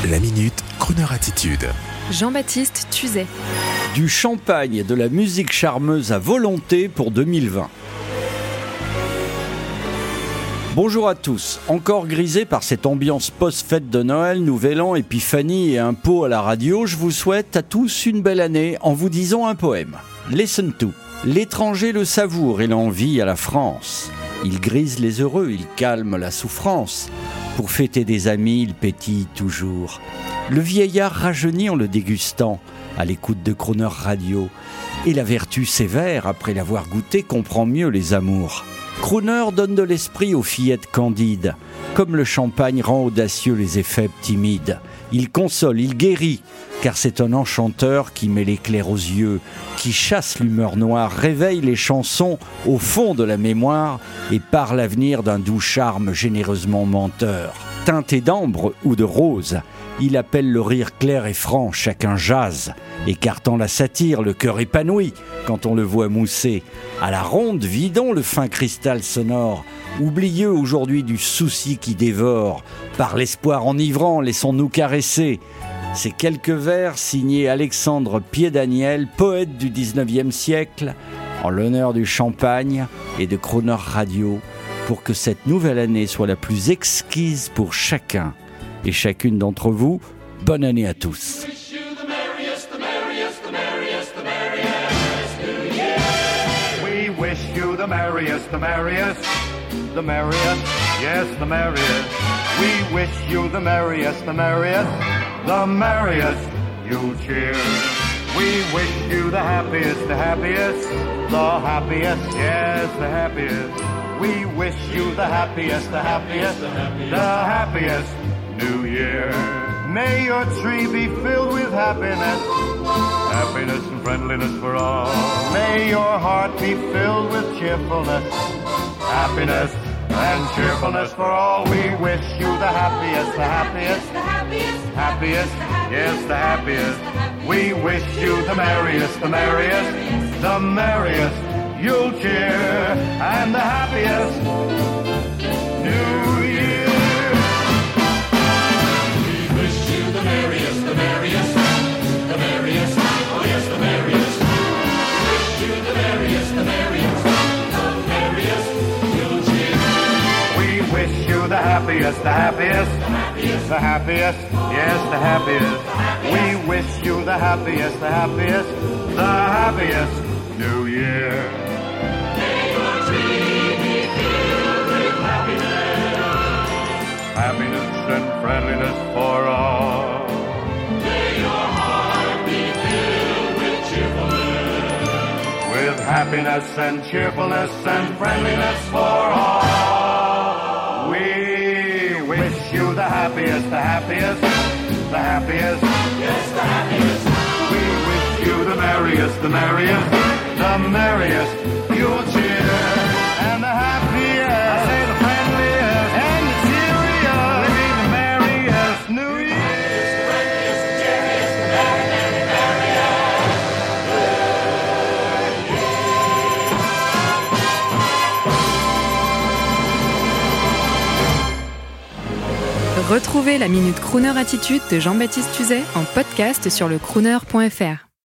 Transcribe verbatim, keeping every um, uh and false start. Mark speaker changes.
Speaker 1: La Minute Crooner Attitude.
Speaker 2: Jean-Baptiste Tuzet.
Speaker 3: Du champagne et de la musique charmeuse à volonté pour deux mille vingt. Bonjour à tous. Encore grisé par cette ambiance post-fête de Noël, Nouvel An, Épiphanie et un pot à la radio, je vous souhaite à tous une belle année en vous disant un poème. Listen to. L'étranger le savoure et l'envie à la France. Il grise les heureux, il calme la souffrance. Pour fêter des amis, il pétille toujours. Le vieillard rajeunit en le dégustant, à l'écoute de Crooner Radio. Et la vertu sévère, après l'avoir goûté, comprend mieux les amours. Crooner donne de l'esprit aux fillettes candides. Comme le champagne rend audacieux les effets timides. Il console, il guérit, car c'est un enchanteur qui met l'éclair aux yeux, qui chasse l'humeur noire, réveille les chansons au fond de la mémoire et par l'avenir d'un doux charme généreusement menteur. Teinté d'ambre ou de rose, il appelle le rire clair et franc, chacun jase, écartant la satire, le cœur épanoui quand on le voit mousser. À la ronde, vidons le fin cristal sonore, oublieux aujourd'hui du souci qui dévore. Par l'espoir enivrant, laissons-nous caresser. Ces quelques vers signés Alexandre Pied-Daniel, poète du dix-neuvième siècle, en l'honneur du champagne et de Crooner Radio, pour que cette nouvelle année soit la plus exquise pour chacun et chacune d'entre vous. Bonne année à tous.
Speaker 4: We wish you the merriest, the merriest, the merriest, yes, the merriest. We wish you the merriest, the merriest, the merriest. You'll cheer. We wish you the happiest, the happiest, the happiest, yes, the happiest. We wish you the happiest, the happiest, the happiest New Year. May your tree be filled with happiness, happiness and friendliness for all. May your heart be filled with cheerfulness, happiness and cheerfulness for all. We wish you the happiest, the happiest, the happiest, happiest, yes, the happiest. We wish you the merriest, the merriest, the merriest. You'll cheer and the happiest New Year.
Speaker 5: We wish you the merriest, the merriest, the merriest, oh yes, the merriest. We wish you the merriest, the merriest, the merriest. You'll cheer.
Speaker 4: We wish you the happiest, the happiest, the happiest, yes, the happiest. We wish you the happiest, the happiest, the happiest New Year. Happiness and friendliness for all.
Speaker 5: May your heart be filled with cheerfulness.
Speaker 4: With happiness and cheerfulness and friendliness for all. We wish you the happiest, the happiest, the happiest.
Speaker 5: Yes, the happiest.
Speaker 4: We wish you the merriest, the merriest, the merriest. You'll cheer and the happiest. I say the friendliest and the cheeriest. Living the merriest New Year.
Speaker 2: Retrouvez la Minute Crooner Attitude de Jean-Baptiste Tuzet en podcast sur le crooner point f r.